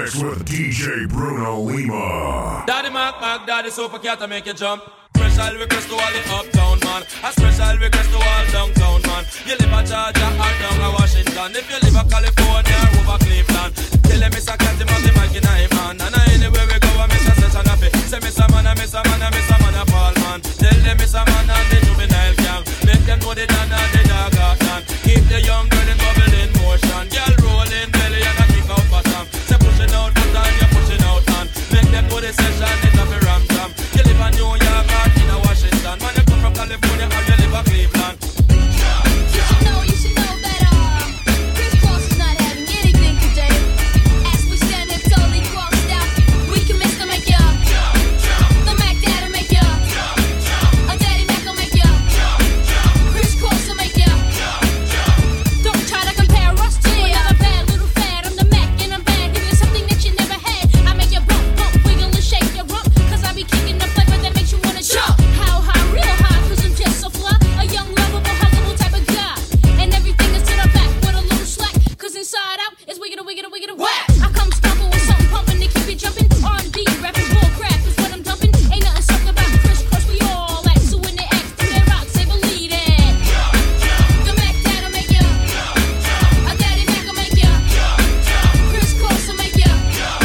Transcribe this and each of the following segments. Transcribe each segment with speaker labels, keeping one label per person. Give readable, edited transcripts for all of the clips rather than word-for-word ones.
Speaker 1: mix with DJ Bruno Lima.
Speaker 2: Daddy Mac, Daddy Super Cat to make you jump. Special request to all the uptown man. A special request to all downtown man. You live at Georgia or down at Washington. If you live at California or over Cleveland, tell them Mr. Cat him on the mic in a hand. And anywhere we go, I miss a session of it. Say Mr. Man, I miss a man, I miss a man, a Paul man. Tell them Mr. Man and the juvenile gang. Make them know the Dan and the dog out man. Keep the young girl in bubble in motion. Girl rolling belly and a kick out bottom. Say pushing out foot and you're pushing out hand. Make them know the session is a ram jam. You live in New York or in a Washington. Man, you come from California or you live in Cleveland.
Speaker 3: You should know that Chris Cross is not having anything today. As we stand here totally crossed out, we can miss to make ya. The Mac Dad'll make ya. A Daddy Mac will make ya. Chris Cross will make ya. Don't try to compare us to another bad little fad. I'm the Mac and I'm bad. Give you something that you never had. I make you bump, bump, wiggle and shake your rump. Cause I be kicking the flavor that makes you wanna jump. How high, real high, cause I'm just so fly. A young, lovable, huggable type of guy. And everything is to the back with a little slack. Cause inside out is wiggity, wiggity, wiggity, whack. I come stomping with something pumping to keep you jumping. R&B, rapping, bull crap is what I'm dumping. Ain't nothing suck about Chris Cross, we all act. So when they ask, do they rock, say believe it. The Mac Dad'll make ya. A Daddy Mac will make ya. Chris Cross will make ya.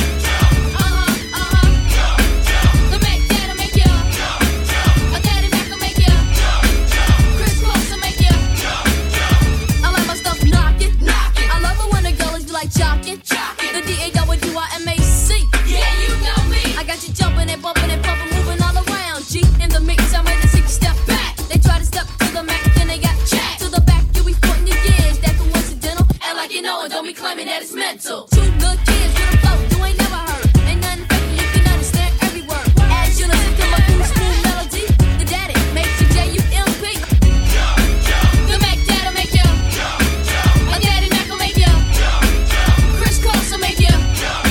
Speaker 3: The Mac Dad'll make ya. A Daddy Mac will make ya. Chris Cross will make ya. I like my stuff knockin'. I love it when the girls be like jockin'. The D-A-W-I-M-A-C. Yeah, you know me. I got you jumping and bumping and pumping, moving all around. G in the mix, I'm ready to take a step back. They try to step to the Mac, then they got jacked. To the back, you be putting your gears. That coincidental. And like you know it, don't be claiming that it's mental. Two little kids with a flow you ain't never heard. Ain't nothing fake, you can understand every word. As you listen to my cool, smooth melody, the Daddy makes you J-U-M-P. The Mac Dad'll make ya. A Daddy Mac will make ya. Chris Cross will make ya.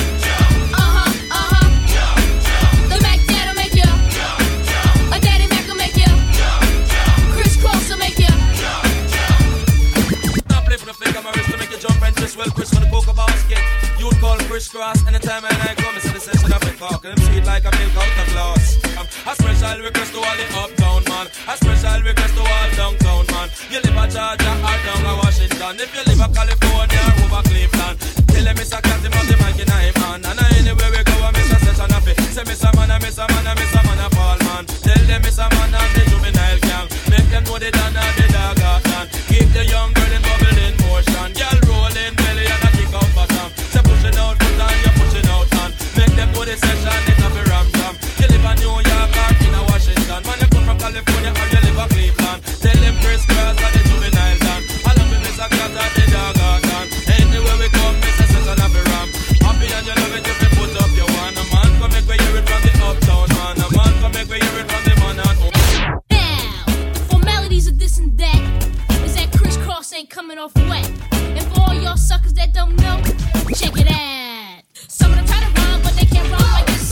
Speaker 3: The Mac Dad'll make ya. A Daddy Mac will make ya. Chris Cross will make ya.
Speaker 2: I play for the flick of my wrist to make you jump and twist. Well, Chris for the cocoa basket. You'd call Chris Cross anytime and I come. It's the session of the talk. And sweet like a milk out of glass. A special request to all the uptown man. A special request to all downtown man. You live at Georgia or down at Washington. If you live at California or over Cleveland, tell them Mr. Cat him on the mic in a hand. And anywhere we go, I miss a session of it. Say Mr. Man, I miss a man, I miss a man, a Paul man. Tell them Mr. Man and the juvenile gang. Make them know the Dan and the dog out man. Keep the young girl in bubble in motion. Girl rolling belly and a kick out bottom. Say pushing out foot and you're pushing out hand. Make them know the session is a ram jam. You live in New York or in a Washington. Man, you come from California or you live in Cleveland. Tell them Chris Cross and the juvenile gang. Along with Mr. Cat and the dog out man. Anywhere we come, Mr. Session of a ram. Happy and you love it if you put up your one. A man come make we hear it from the uptown man. A man come make we hear it from the man at home.
Speaker 3: Now, the formalities of this and that is that Chris Cross ain't coming off wet. And for all y'all suckers that don't know, check it out. Some of them try to rhyme, but they can't rhyme like this.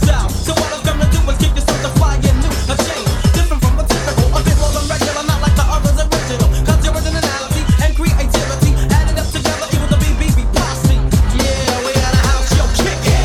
Speaker 4: style. So what I'm gonna do is give you something fly and new, a change, different from the typical, a bit more than regular, not like the others original. Cause your originality and creativity added up together equal the BBB posse. Yeah, we at a house, yo, kick it.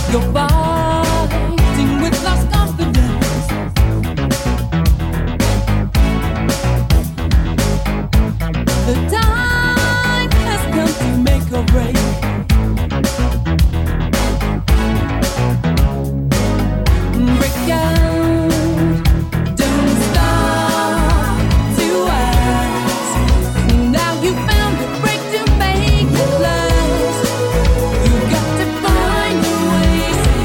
Speaker 4: You're fighting with lost confidence. The time has come to make a break. Break out, don't stop to ask. Now you found a break to make it last. You got to find a way.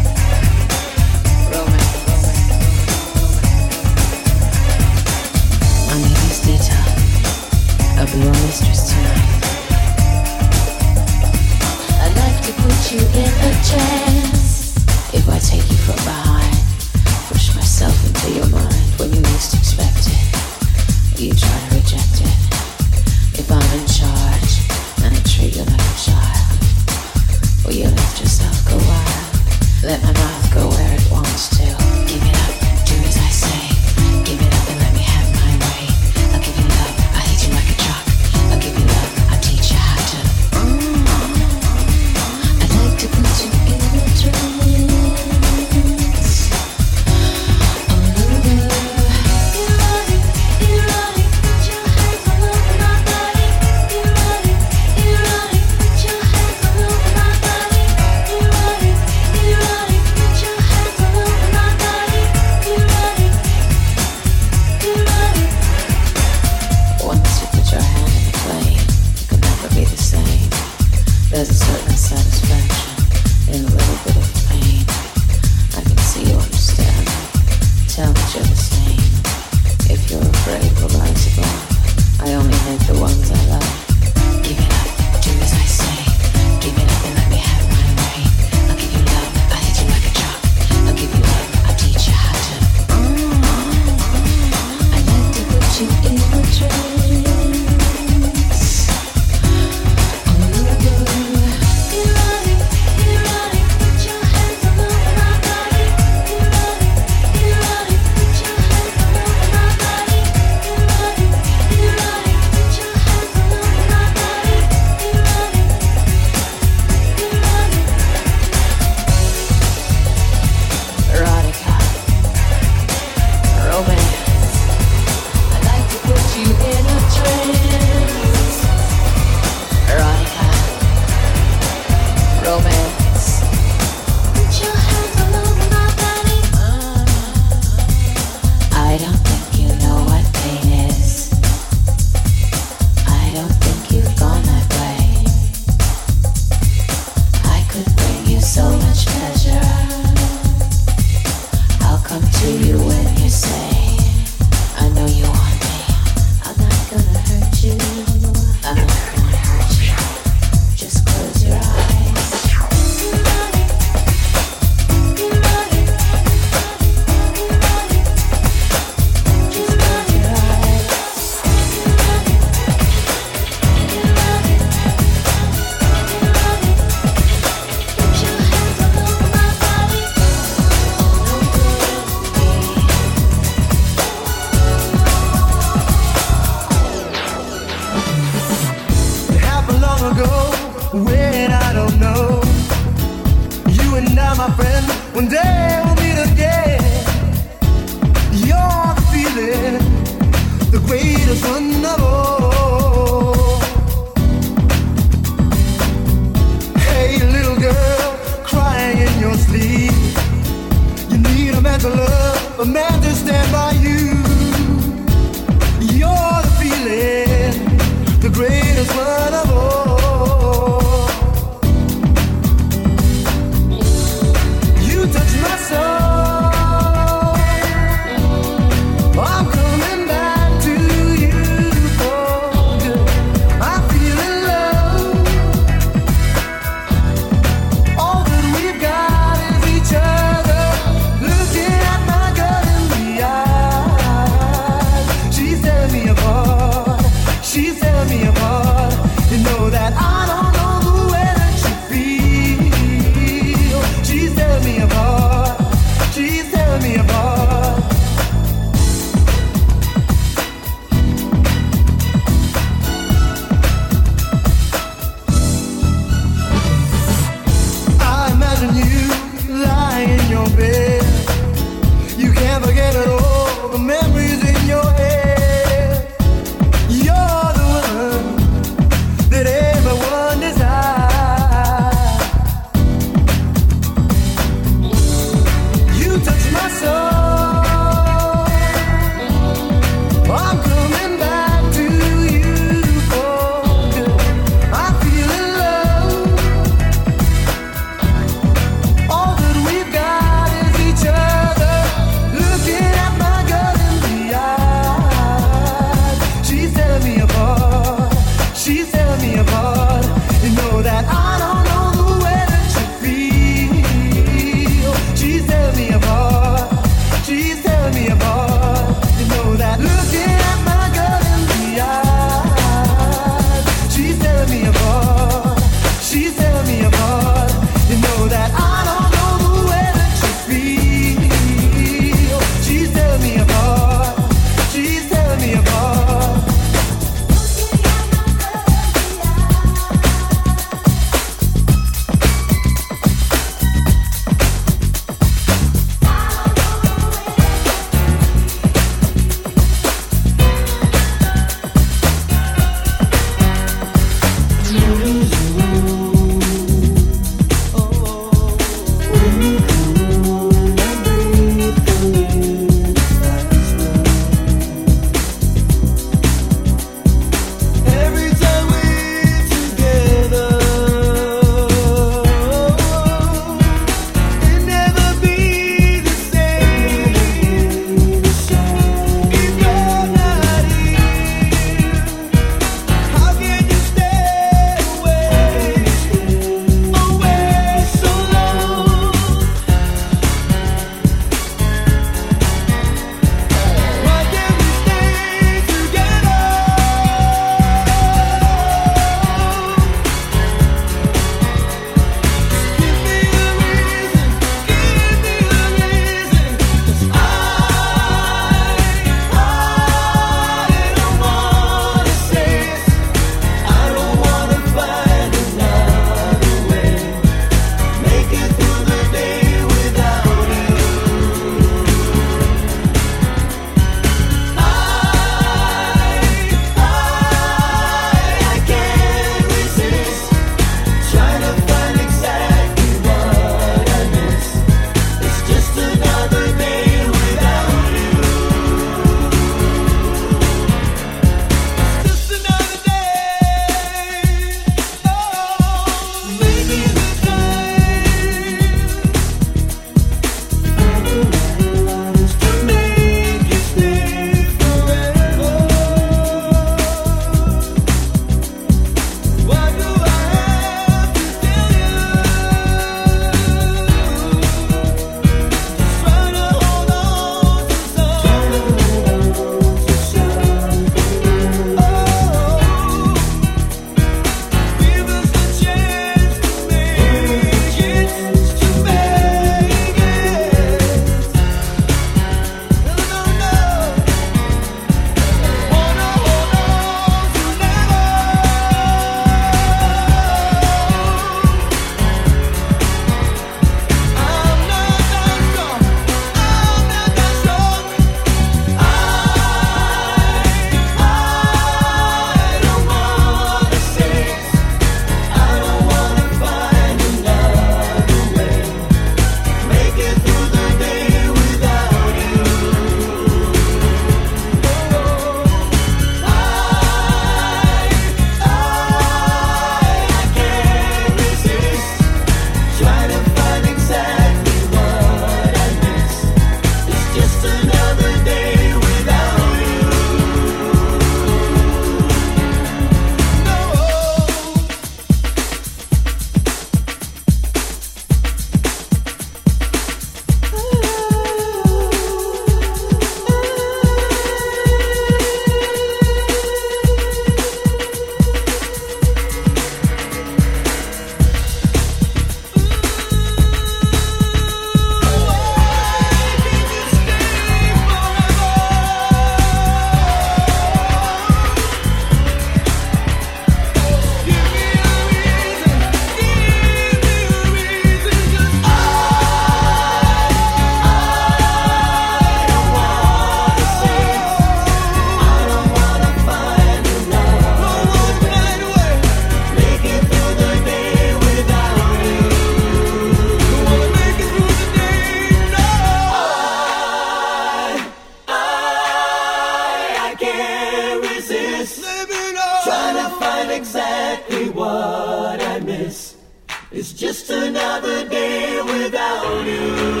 Speaker 5: It's just another day without you.